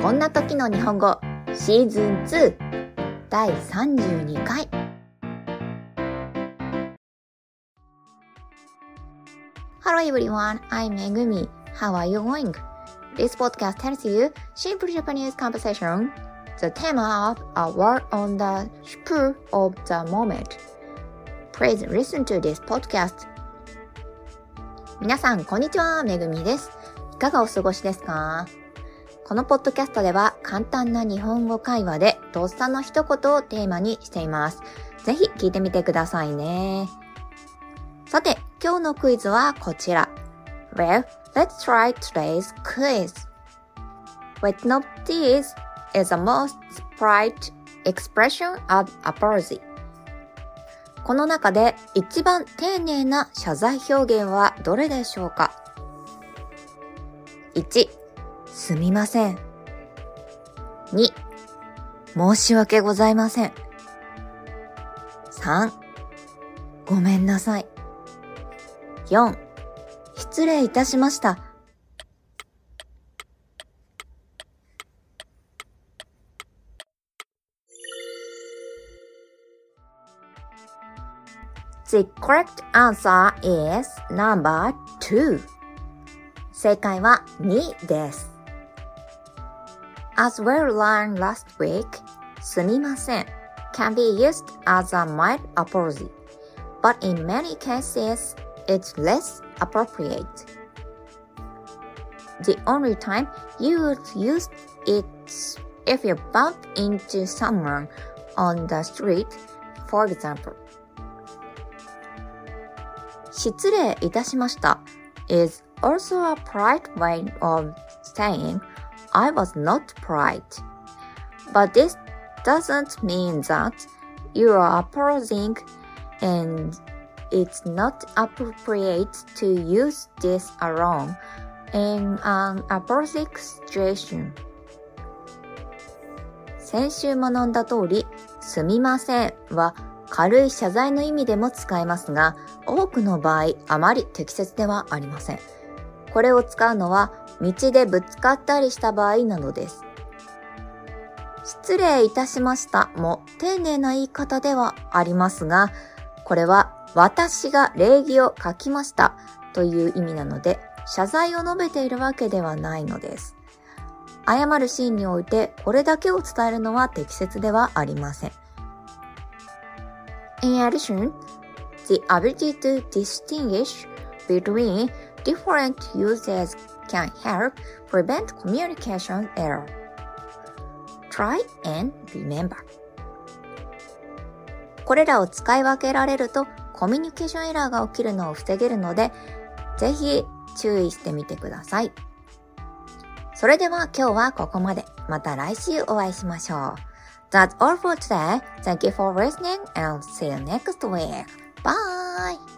こんな時の日本語シーズン2第32回。Hello everyone, I'm Megumi. How are you going? This podcast tells you simple Japanese conversation, the theme of a word on the spur of the moment. Please listen to this podcast. 皆さんこんにちは、めぐみです。いかがお過ごしですか？このポッドキャストでは簡単な日本語会話でとっさの一言をテーマにしています。ぜひ聞いてみてくださいね。さて、今日のクイズはこちら。Well, let's try today's quiz. Which of these is the most polite expression of apology?この中で一番丁寧な謝罪表現はどれでしょうか？ 1. すみません。2. 申し訳ございません。3. ごめんなさい。4. 失礼いたしました。The correct answer is number 2. 正解は2です。As we learned last week, すみません can be used as a mild apology, but in many cases, it's less appropriate. The only time you would use it if you bump into someone on the street, for example.失礼いたしました is also a polite way of saying I was not polite. But this doesn't mean that you are apologizing and it's not appropriate to use this alone in an apologetic situation. 先週学んだ通り、すみませんは軽い謝罪の意味でも使えますが、多くの場合あまり適切ではありません。これを使うのは道でぶつかったりした場合などです。失礼いたしましたも丁寧な言い方ではありますが、これは私が礼儀を欠きましたという意味なので、謝罪を述べているわけではないのです。謝るシーンにおいてこれだけを伝えるのは適切ではありません。In addition, the ability to distinguish between different uses can help prevent communication error. Try and remember. これらを使い分けられるとコミュニケーションエラーが起きるのを防げるので、ぜひ注意してみてください。それでは今日はここまで。また来週お会いしましょう。That's all for today. Thank you for listening and see you next week. Bye!